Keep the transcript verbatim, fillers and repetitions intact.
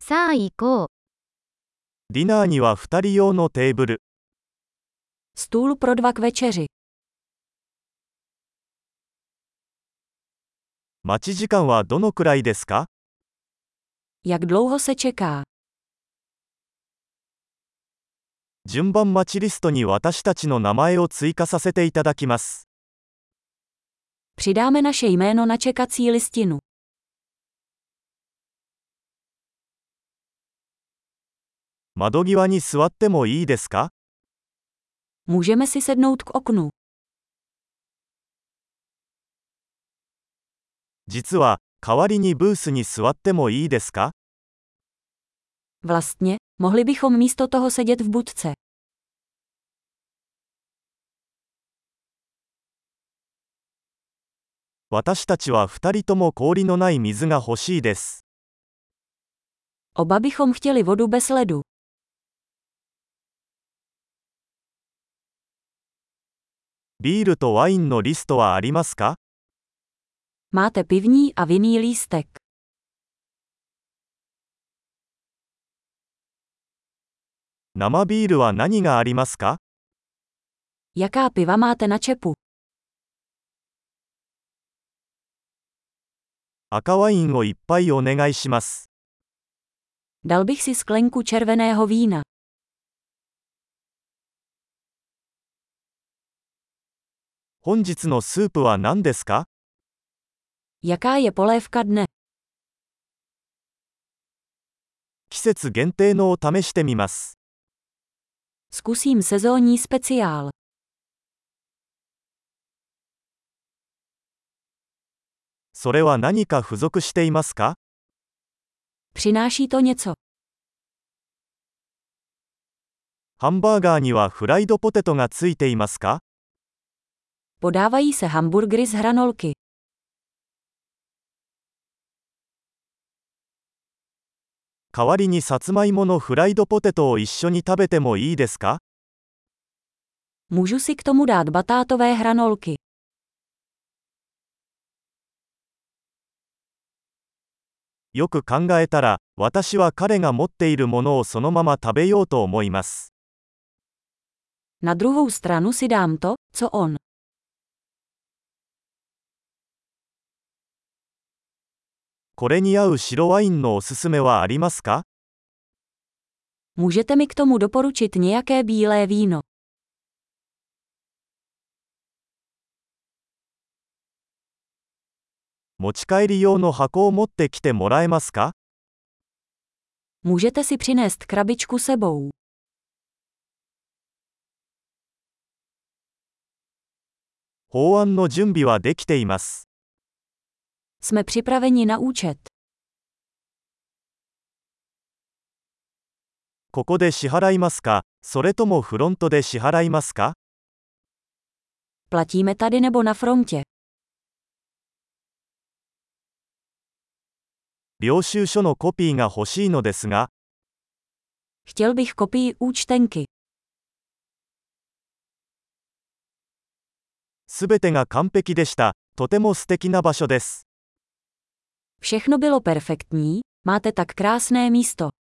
さあ行こう。 ディナーにはふたり用のテーブル。 Stůl pro dva k večeři. 待ち時間はどのくらいですか？ Jak dlouho se čeká? 順番待ちリストに私たちの名前を追加させていただきます。 Přidáme naše jméno na čekací listinu. 窓際に座ってもいいですか？ Můžeme si sednout k oknu. 実は、代わりにブースに座ってもいいですか？ Vlastně, mohli bychom místo toho sedět v budce. 私たちはふたりとも氷のない水が欲しいです。 Oba bychom chtěli vodu bez ledu. ビールとワインのリストはありますか？ Máte pivní a vinný lístek. 生ビールは何がありますか？ Jaká piva máte na čepu? 赤ワインをいっぱいお願いします。 Dal bych si sklenku červeného vína. 本日のスープは何ですか？ Jaká je polévka dne? 季節限定のを試してみます。 Zkusím sezónní speciál. それは何か付属していますか？ Přináší to něco. ハンバーガーにはフライドポテトがついていますか？ Podávají se hamburgery z hranolky. 代わりにさつまいものフライドポテトを一緒に食べてもいいですか？ Můžu si k tomu dát batátové hranolky. よく考えたら、私は彼が持っているものをそのまま食べようと思います。 Na druhou stranu si dám to, co on. これに合う白ワインのおすすめはありますか？ Můžete mi k tomu doporučit nějaké bílé víno. 持ち帰り用の箱を持ってきてもらえますか？ Můžete si přinést krabičku sebou. 法案の準備はできています。 Jsme připraveni na účet. ここで支払いますか、それともフロントで支払いますか？ Platíme tady nebo na frontě. 領収書のコピーが欲しいのですが、 Chtěl bych kopii účtenky. すべてが完璧でした。とても素敵な場所です。 Všechno bylo perfektní, máte tak krásné místo.